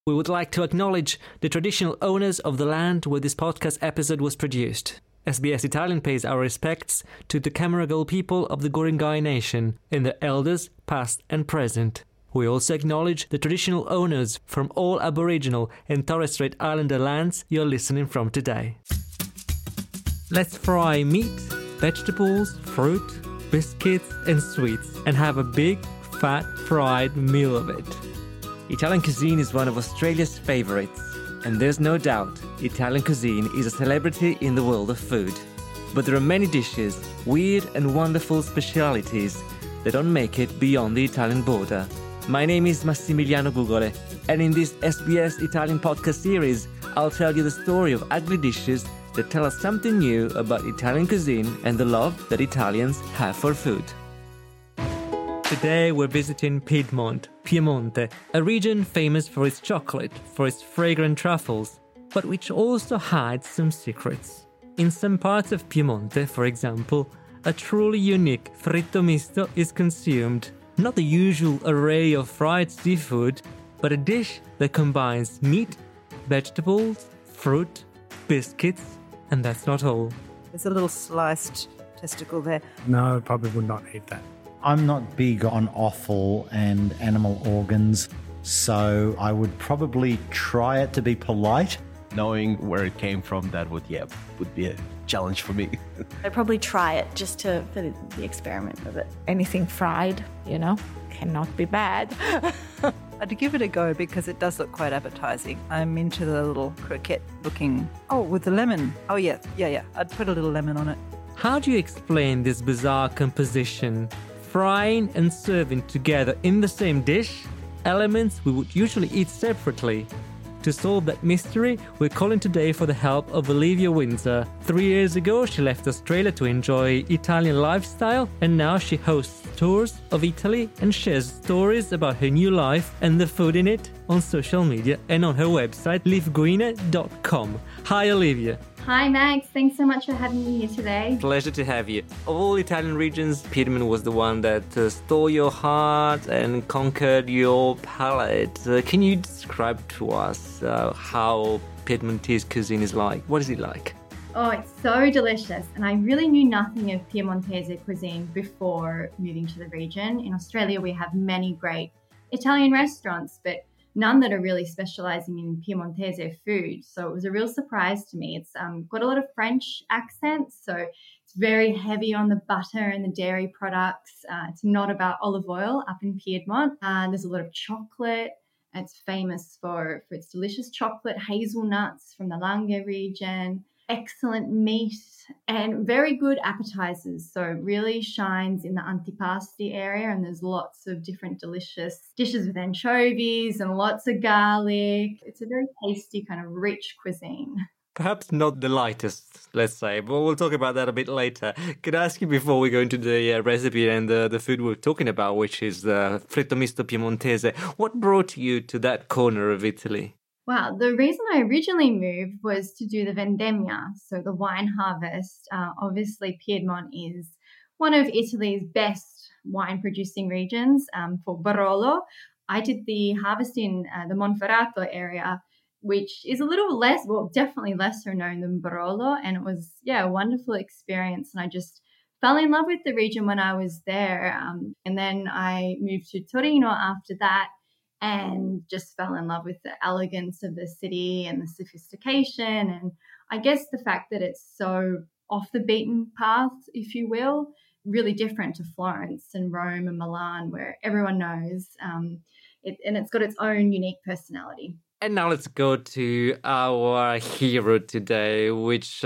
We would like to acknowledge the traditional owners of the land where this podcast episode was produced. SBS Italian pays our respects to the Camaragal people of the Guringai Nation and their elders, past and present. We also acknowledge the traditional owners from all Aboriginal and Torres Strait Islander lands you're listening from today. Let's fry meat, vegetables, fruit, biscuits and sweets and have a big, fat, fried meal of it. Italian cuisine is one of Australia's favourites, and there's no doubt Italian cuisine is a celebrity in the world of food. But there are many dishes, weird and wonderful specialities that don't make it beyond the Italian border. My name is Massimiliano Gugole, and in this SBS Italian podcast series, I'll tell you the story of ugly dishes that tell us something new about Italian cuisine and the love that Italians have for food. Today we're visiting Piedmont, Piemonte, a region famous for its chocolate, for its fragrant truffles, but which also hides some secrets. In some parts of Piemonte, for example, a truly unique fritto misto is consumed. Not the usual array of fried seafood, but a dish that combines meat, vegetables, fruit, biscuits, and that's not all. There's a little sliced testicle there. No, I probably would not eat that. I'm not big on offal and animal organs, so I would probably try it to be polite. Knowing where it came from, that would be a challenge for me. I'd probably try it just for the experiment of it. Anything fried, cannot be bad. I'd give it a go because it does look quite appetizing. I'm into the little croquette looking. Oh, with the lemon. Oh, yeah. I'd put a little lemon on it. How do you explain this bizarre composition? Frying and serving together in the same dish, elements we would usually eat separately. To solve that mystery, we're calling today for the help of Olivia Windsor. 3 years ago, she left Australia to enjoy Italian lifestyle, and now she hosts tours of Italy and shares stories about her new life and the food in it on social media and on her website, livguina.com. Hi, Olivia. Hi, Max. Thanks so much for having me here today. Pleasure to have you. Of all Italian regions, Piedmont was the one that stole your heart and conquered your palate. Can you describe to us how Piedmontese cuisine is like? What is it like? Oh, it's so delicious. And I really knew nothing of Piemontese cuisine before moving to the region. In Australia, we have many great Italian restaurants, but none that are really specializing in Piemontese food. So it was a real surprise to me. It's got a lot of French accents, so it's very heavy on the butter and the dairy products. It's not about olive oil up in Piedmont. There's a lot of chocolate. It's famous for its delicious chocolate, hazelnuts from the Langhe region, excellent meat, and very good appetizers. So it really shines in the antipasti area, and there's lots of different delicious dishes with anchovies and lots of garlic. It's a very tasty, kind of rich cuisine. Perhaps not the lightest, let's say, but we'll talk about that a bit later. Could I ask you, before we go into the recipe and the food we're talking about, which is the fritto misto piemontese, what brought you to that corner of Italy? Wow, the reason I originally moved was to do the vendemmia, so the wine harvest. Obviously, Piedmont is one of Italy's best wine-producing regions for Barolo. I did the harvest in the Monferrato area, which is a little less, well, definitely lesser known than Barolo, and it was, a wonderful experience, and I just fell in love with the region when I was there, and then I moved to Torino after that, and just fell in love with the elegance of the city and the sophistication. And I guess the fact that it's so off the beaten path, if you will, really different to Florence and Rome and Milan, where everyone knows, and it's got its own unique personality. And now let's go to our hero today, which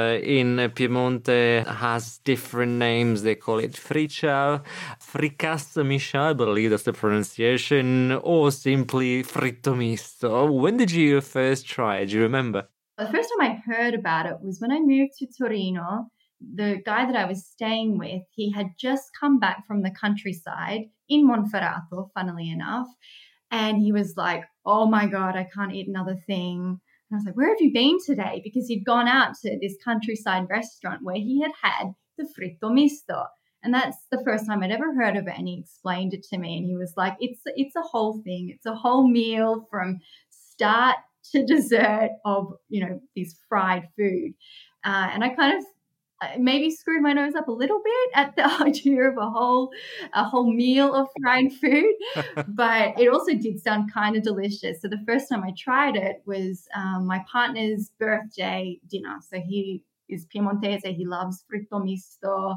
in Piemonte has different names. They call it friciau, fricasso misciau, I believe that's the pronunciation, or simply fritto misto. When did you first try it? Do you remember? The first time I heard about it was when I moved to Torino. The guy that I was staying with, he had just come back from the countryside in Monferrato, funnily enough. And he was like, oh my God, I can't eat another thing. And I was like, where have you been today? Because he'd gone out to this countryside restaurant where he had the fritto misto. And that's the first time I'd ever heard of it. And he explained it to me. And he was like, it's a whole thing. It's a whole meal from start to dessert of, this fried food. And I kind of maybe screwed my nose up a little bit at the idea of a whole meal of fried food, but it also did sound kind of delicious. So the first time I tried it was my partner's birthday dinner. So he is Piemontese. He loves fritto misto.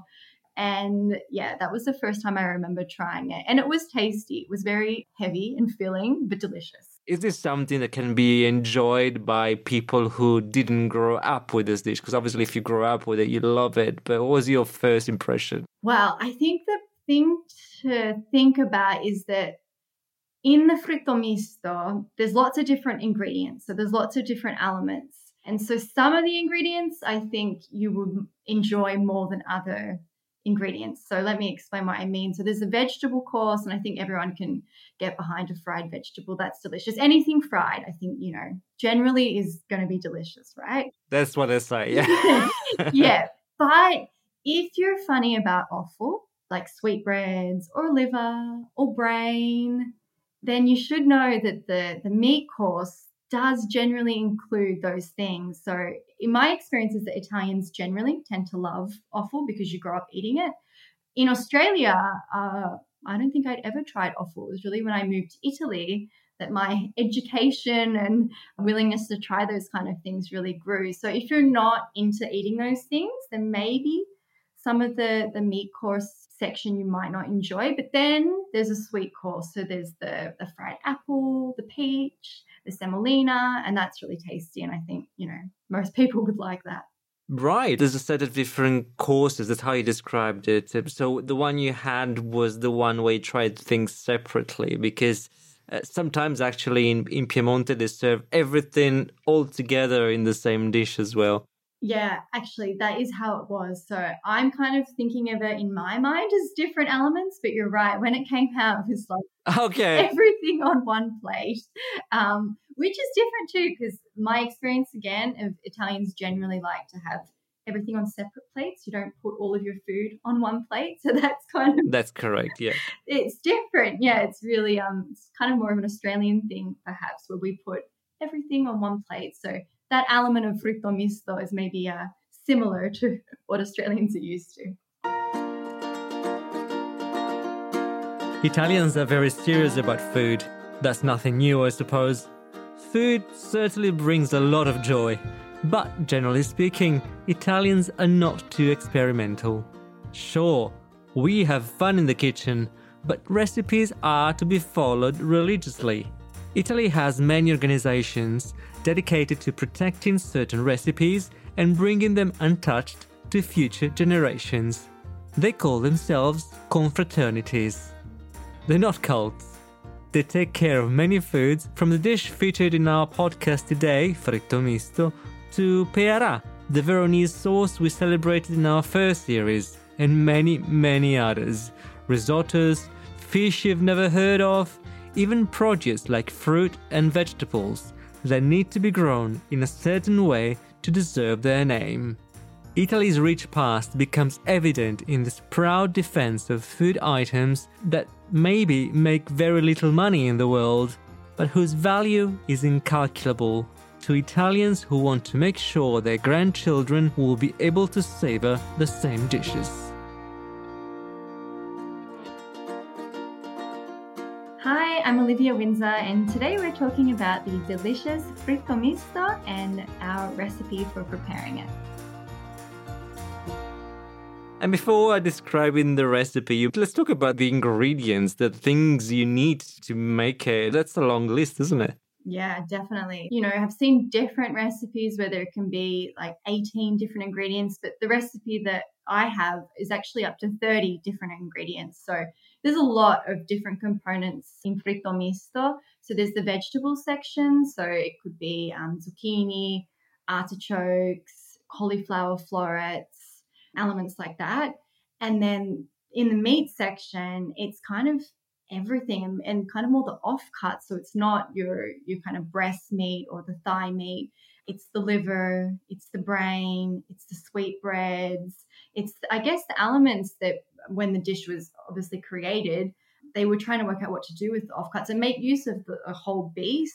And yeah, that was the first time I remember trying it. And it was tasty. It was very heavy and filling, but delicious. Is this something that can be enjoyed by people who didn't grow up with this dish? Because obviously if you grow up with it, you love it. But what was your first impression? Well, I think the thing to think about is that in the fritto misto, there's lots of different ingredients. So there's lots of different elements. And so some of the ingredients I think you would enjoy more than other ingredients. So let me explain what I mean. So there's a vegetable course, and I think everyone can get behind a fried vegetable. That's delicious. Anything fried, I think, generally is going to be delicious, right? That's what I say, yeah. Yeah. But if you're funny about offal, like sweetbreads or liver or brain, then you should know that the meat course does generally include those things. So in my experience is that Italians generally tend to love offal because you grow up eating it. In Australia, I don't think I'd ever tried offal. It was really when I moved to Italy that my education and willingness to try those kind of things really grew. So if you're not into eating those things, then maybe some of the meat course section you might not enjoy. But then there's a sweet course. So there's the fried apple, the peach, the semolina, and that's really tasty. And I think, most people would like that. Right. There's a set of different courses. That's how you described it. So the one you had was the one where you tried things separately, because sometimes actually in Piemonte, they serve everything all together in the same dish as well. Yeah, actually, that is how it was. So I'm kind of thinking of it in my mind as different elements, but you're right. When it came out, it was like everything on one plate, which is different too, because my experience, again, of Italians generally like to have everything on separate plates. You don't put all of your food on one plate. So that's kind of... That's correct, yeah. It's different. Yeah, it's really, it's kind of more of an Australian thing, perhaps, where we put everything on one plate. So that element of fritto misto is maybe similar to what Australians are used to. Italians are very serious about food. That's nothing new, I suppose. Food certainly brings a lot of joy. But generally speaking, Italians are not too experimental. Sure, we have fun in the kitchen, but recipes are to be followed religiously. Italy has many organizations dedicated to protecting certain recipes and bringing them untouched to future generations. They call themselves confraternities. They're not cults. They take care of many foods, from the dish featured in our podcast today, fritto misto, to pearà, the Veronese sauce we celebrated in our first series, and many, many others. Risottos, fish you've never heard of, even produce like fruit and vegetables that need to be grown in a certain way to deserve their name. Italy's rich past becomes evident in this proud defense of food items that maybe make very little money in the world, but whose value is incalculable to Italians who want to make sure their grandchildren will be able to savor the same dishes. Hi, I'm Olivia Windsor, and today we're talking about the delicious fritto misto and our recipe for preparing it. And before describing the recipe, let's talk about the ingredients, the things you need to make it. That's a long list, isn't it? Yeah, definitely. I've seen different recipes where there can be like 18 different ingredients, but the recipe that I have is actually up to 30 different ingredients. So there's a lot of different components in fritto misto. So there's the vegetable section. So it could be zucchini, artichokes, cauliflower florets, elements like that. And then in the meat section, it's kind of everything and kind of more the offcuts. So it's not your kind of breast meat or the thigh meat. It's the liver, it's the brain, it's the sweetbreads. It's, I guess, the elements that when the dish was obviously created, they were trying to work out what to do with the offcuts and make use of a whole beast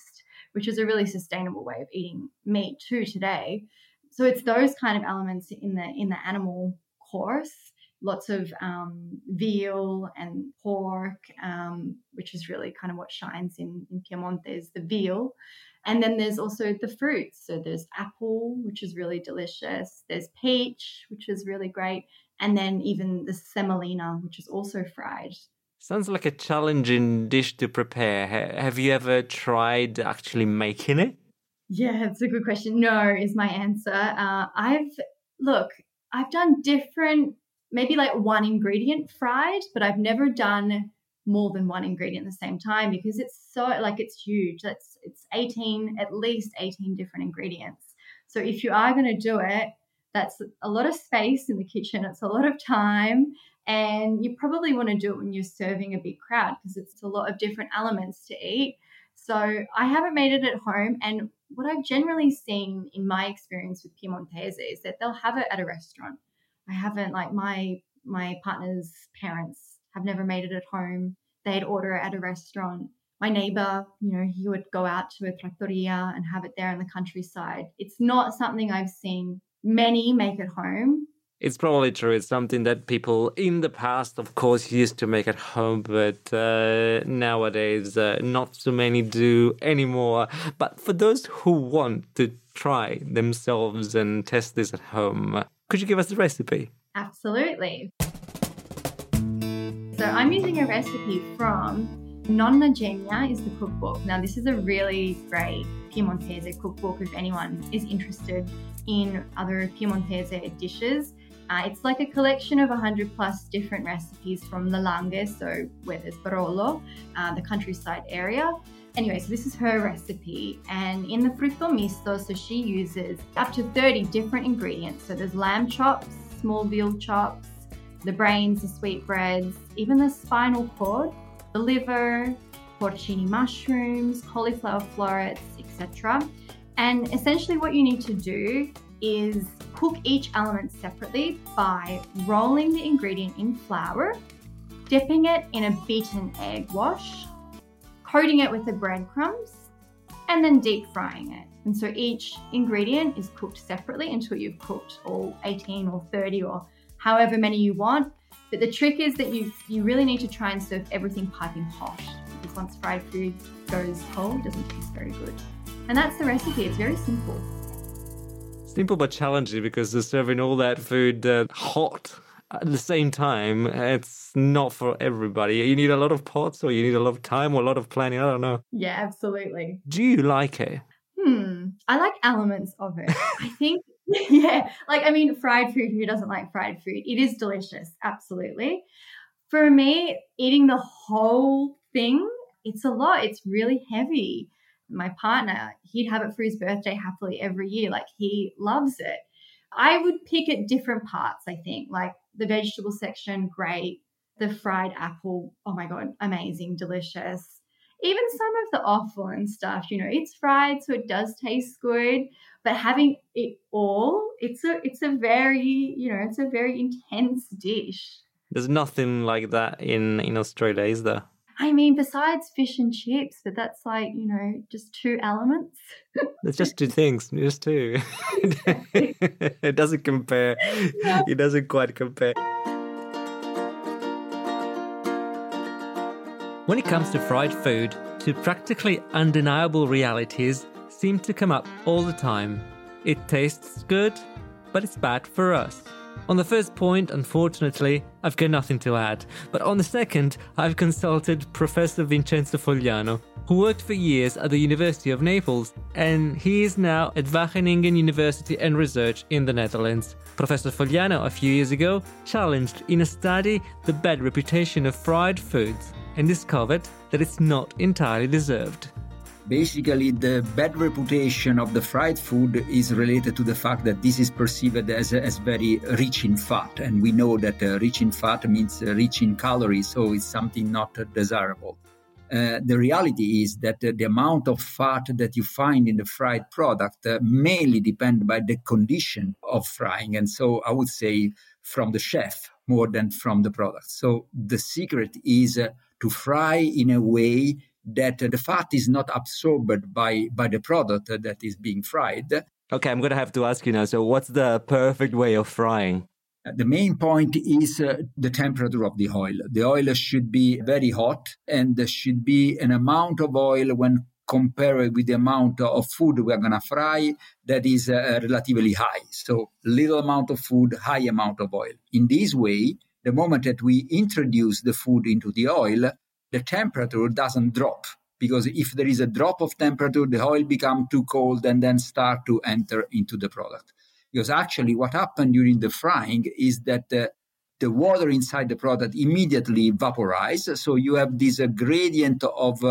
which is a really sustainable way of eating meat too today. So it's those kind of elements in the animal course. Lots of veal and pork, which is really kind of what shines in Piemonte is the veal. And then there's also the fruits. So there's apple, which is really delicious. There's peach, which is really great. And then even the semolina, which is also fried. Sounds like a challenging dish to prepare. Have you ever tried actually making it? Yeah, it's a good question. No, is my answer. I've done different, maybe like one ingredient fried, but I've never done more than one ingredient at the same time because it's huge. It's at least 18 different ingredients. So if you are going to do it, that's a lot of space in the kitchen. It's a lot of time. And you probably want to do it when you're serving a big crowd because it's a lot of different elements to eat. So I haven't made it at home. And what I've generally seen in my experience with Piemontese is that they'll have it at a restaurant. I haven't, like my partner's parents have never made it at home. They'd order it at a restaurant. My neighbor, he would go out to a trattoria and have it there in the countryside. It's not something I've seen many make at home. It's probably true. It's something that people in the past, of course, used to make at home, but nowadays not so many do anymore. But for those who want to try themselves and test this at home, could you give us the recipe? Absolutely. So I'm using a recipe from Nonna Genia is the cookbook. Now, this is a really great Piemontese cookbook if anyone is interested in other Piemontese dishes. It's like a collection of 100 plus different recipes from Le Langhe, so where there's Barolo, the countryside area. Anyway, so this is her recipe. And in the frutto misto, so she uses up to 30 different ingredients. So there's lamb chops, small veal chops, the brains, the sweetbreads, even the spinal cord, the liver, porcini mushrooms, cauliflower florets, etc. And essentially what you need to do is cook each element separately by rolling the ingredient in flour, dipping it in a beaten egg wash, coating it with the breadcrumbs, and then deep frying it. And so each ingredient is cooked separately until you've cooked all 18 or 30 or however many you want. But the trick is that you really need to try and serve everything piping hot, because once fried food goes cold, it doesn't taste very good. And that's the recipe. It's very simple. Simple but challenging, because serving all that food hot at the same time, it's not for everybody. You need a lot of pots, or you need a lot of time, or a lot of planning. I don't know. Yeah, absolutely. Do you like it? I like elements of it. I think, yeah. Fried food, who doesn't like fried food? It is delicious, absolutely. For me, eating the whole thing, it's a lot. It's really heavy. My partner, he'd have it for his birthday happily every year. Like, he loves it. I would pick at different parts, I think. Like the vegetable section, great. The fried apple, oh my God, amazing, delicious. Even some of the offal and stuff, it's fried, so it does taste good. But having it all, it's a very intense dish. There's nothing like that in Australia, is there? Besides fish and chips, but that's just two elements. It's just two things, just two. It doesn't compare. Yeah. It doesn't quite compare. When it comes to fried food, two practically undeniable realities seem to come up all the time. It tastes good, but it's bad for us. On the first point, unfortunately, I've got nothing to add. But on the second, I've consulted Professor Vincenzo Fogliano, who worked for years at the University of Naples, and he is now at Wageningen University and Research in the Netherlands. Professor Fogliano, a few years ago, challenged in a study the bad reputation of fried foods and discovered that it's not entirely deserved. Basically, the bad reputation of the fried food is related to the fact that this is perceived as very rich in fat. And we know that rich in fat means rich in calories, so it's something not desirable. The reality is that the amount of fat that you find in the fried product mainly depend by the condition of frying. And so I would say from the chef more than from the product. So the secret is to fry in a way that the fat is not absorbed by the product that is being fried. Okay, I'm going to have to ask you now, so what's the perfect way of frying? The main point is the temperature of the oil. The oil should be very hot, and there should be an amount of oil when compared with the amount of food we are going to fry that is relatively high. So little amount of food, high amount of oil. In this way, the moment that we introduce the food into the oil, the temperature doesn't drop. Because if there is a drop of temperature, the oil becomes too cold and then start to enter into the product. Because actually what happened during the frying is that the water inside the product immediately vaporizes. So you have this gradient of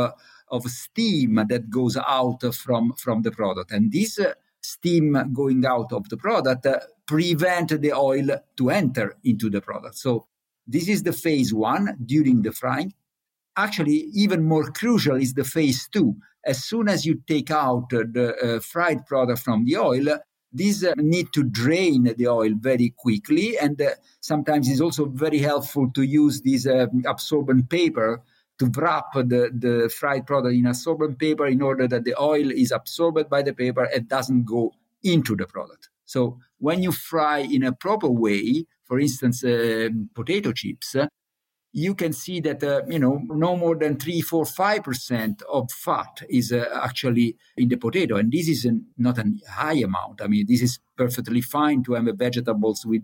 steam that goes out from the product. And this steam going out of the product prevent the oil to enter into the product. So this is the phase one during the frying. Actually, even more crucial is the phase two. As soon as you take out the fried product from the oil, these need to drain the oil very quickly. And sometimes it's also very helpful to use this absorbent paper to wrap the fried product in absorbent paper in order that the oil is absorbed by the paper and doesn't go into the product. So when you fry in a proper way, for instance, potato chips, you can see that, no more than 3-5% of fat is actually in the potato. And this is not a high amount. I mean, this is perfectly fine to have vegetables with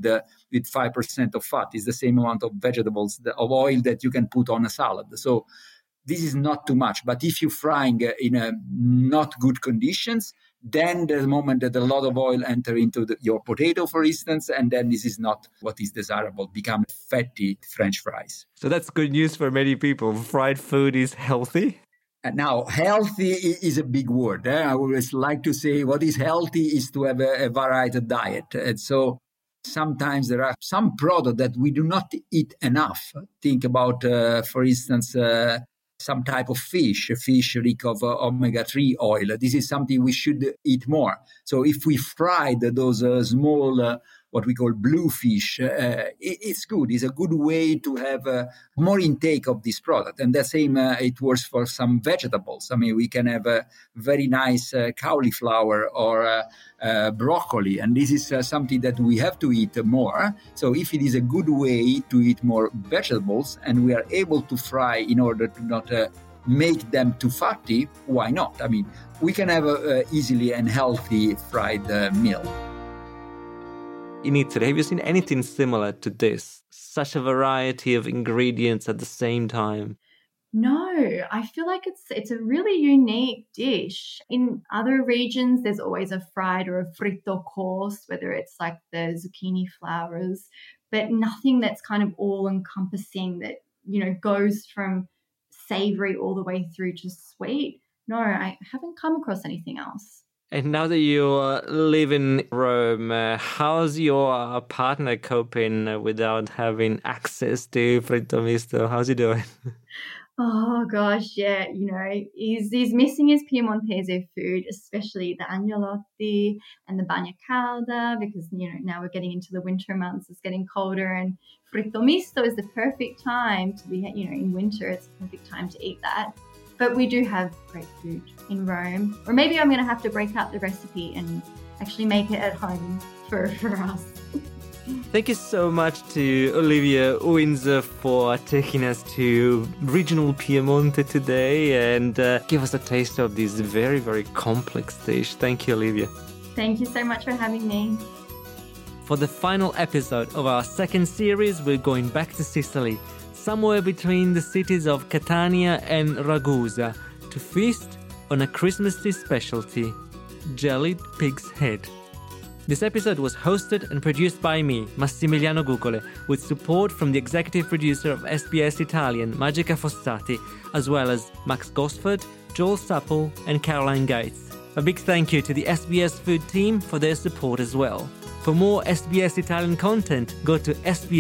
5% of fat. It's the same amount of vegetables, of oil that you can put on a salad. So this is not too much. But if you're frying in not good conditions, then the moment that a lot of oil enter into your potato, for instance, and then this is not what is desirable, become fatty French fries. So that's good news for many people. Fried food is healthy? And now, healthy is a big word. I always like to say what is healthy is to have a varied diet. And so sometimes there are some products that we do not eat enough. Think about, for instance, some type of fish rich of omega-3 oil. This is something we should eat more. So if we fried those small, what we call blue fish, it's good. It's a good way to have more intake of this product. And the same, it works for some vegetables. I mean, we can have a very nice cauliflower or broccoli. And this is something that we have to eat more. So if it is a good way to eat more vegetables and we are able to fry in order to not make them too fatty, why not? I mean, we can have easily and healthy fried meal. In Italy, have you seen anything similar to this? Such a variety of ingredients at the same time. No, I feel like it's a really unique dish. In other regions, there's always a fried or a fritto course, whether it's like the zucchini flowers, but nothing that's kind of all-encompassing that, goes from savory all the way through to sweet. No, I haven't come across anything else. And now that you live in Rome, how's your partner coping without having access to fritto misto? How's he doing? Oh gosh, yeah, he's missing his Piemontese food, especially the agnolotti and the bagna calda, because now we're getting into the winter months. It's getting colder, and fritto misto is the perfect time to be. In winter, it's the perfect time to eat that. But we do have great food in Rome. Or maybe I'm going to have to break out the recipe and actually make it at home for us. Thank you so much to Olivia Windsor for taking us to regional Piemonte today and give us a taste of this very, very complex dish. Thank you, Olivia. Thank you so much for having me. For the final episode of our second series, we're going back to Sicily, somewhere between the cities of Catania and Ragusa, to feast on a Christmassy specialty, jellied pig's head. This episode was hosted and produced by me, Massimiliano Gugole, with support from the executive producer of SBS Italian, Magica Fossati, as well as Max Gosford, Joel Supple and Caroline Gates. A big thank you to the SBS Food team for their support as well. For more SBS Italian content, go to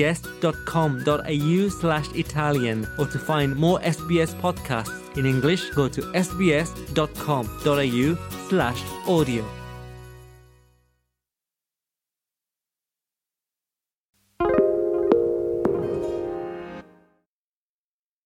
sbs.com.au/Italian, or to find more SBS podcasts in English, go to sbs.com.au/audio.